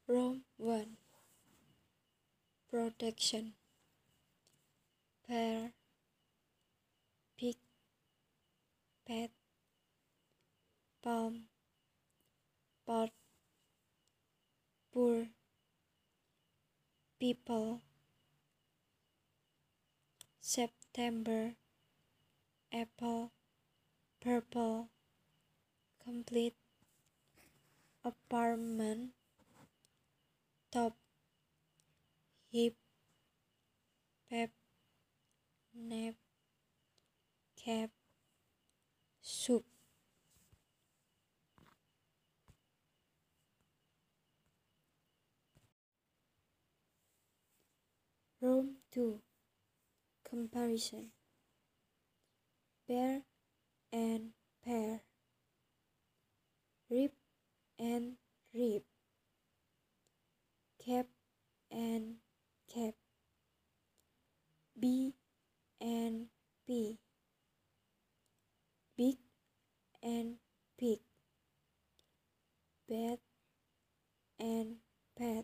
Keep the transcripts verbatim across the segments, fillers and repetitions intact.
Room one. Protection. Bear, pig, pet, palm, pot, poor, people, September, apple, purple, complete, apartment, top, hip, pep, nap, cap, soup. Room two. Comparison. Bear and pear, rib and rib, cap and cap, B and P, big and pig, bed and pet,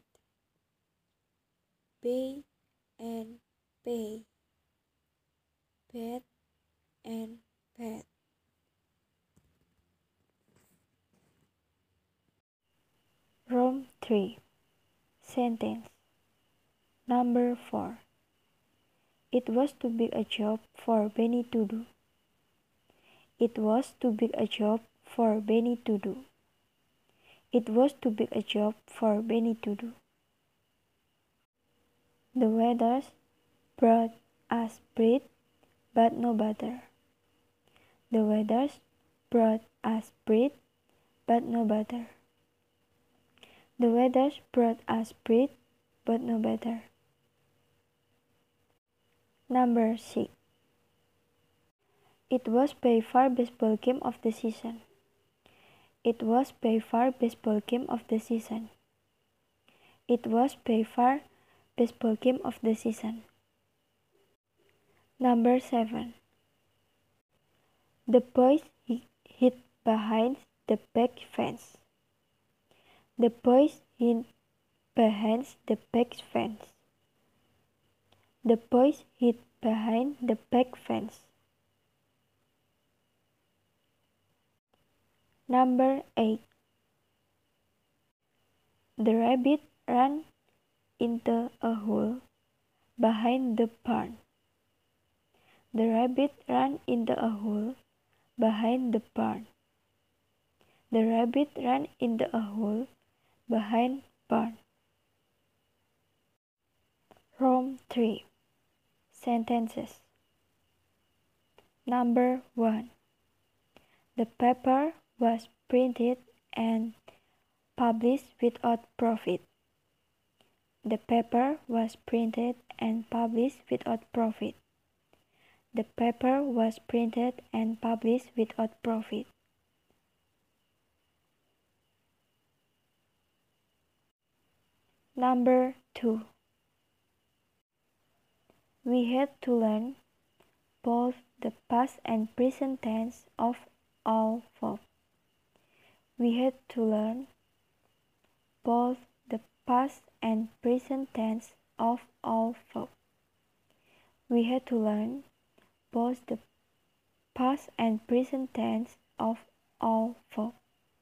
bay and pay, bed and pet. Room three. Sentence. Number four. It was too big a job for Benny to do. It was too big a job for Benny to do. It was too big a job for Benny to do. The weather brought us bread, but no butter. The weather brought us bread, but no butter. The weather brought us bread, but no butter. Number six. It was by far baseball game of the season. It was by far baseball game of the season. It was by far baseball game of the season. Number seven. The boys hid behind the back fence. The boys hid behind the back fence. The boys hid behind the back fence. Number eight. The rabbit ran into a hole behind the barn. The rabbit ran into a hole behind the barn. The rabbit ran into a hole behind barn. Room three. Sentences. Number one. The paper was printed and published without profit. The paper was printed and published without profit. The paper was printed and published without profit. Number two. We had to learn both the past and present tense of all verbs. We had to learn both the past and present tense of all verbs. We had to learn both the past and present tense of all verbs.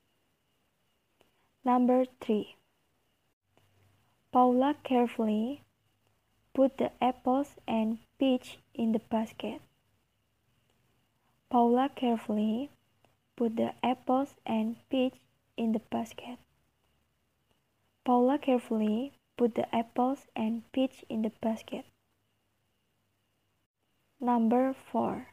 Number three. Paula carefully put the apples and peach in the basket. Paula carefully put the apples and peach in the basket. Paula carefully put the apples and peach in the basket. Number four.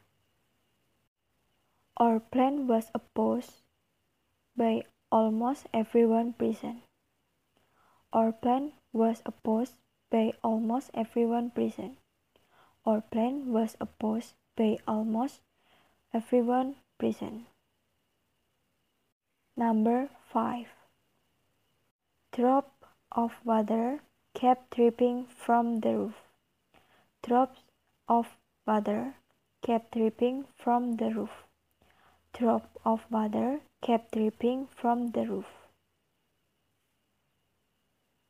Our plan was opposed by almost everyone present. Our plan was opposed by almost everyone present. Our plan was opposed by almost everyone present. Number five. Drop of water kept dripping from the roof. Drops of water kept dripping from the roof. Drop of water kept dripping from the roof.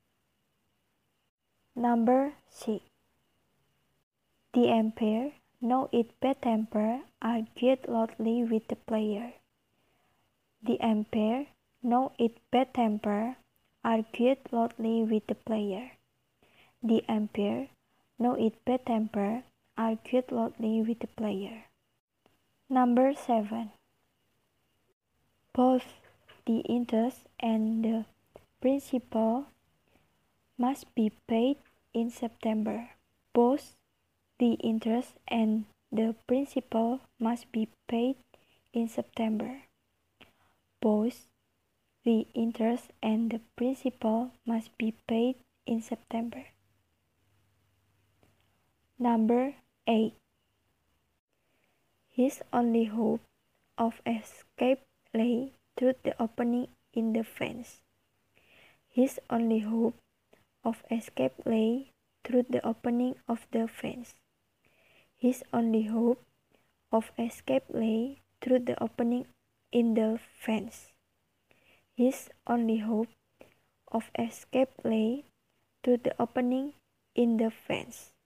Number six. The umpire, know its bad temper, argued loudly with the player. The umpire, know its bad temper, argued loudly with the player. The umpire, know its bad temper, argued loudly with the player. Number seven. Both the interest and the principal must be paid in September. Both the interest and the principal must be paid in September. Both the interest and the principal must be paid in September. Number eight. His only hope of escape lay through the opening in the fence. His only hope of escape lay through the opening of the fence. His only hope of escape lay through the opening in the fence. His only hope of escape lay through the opening in the fence.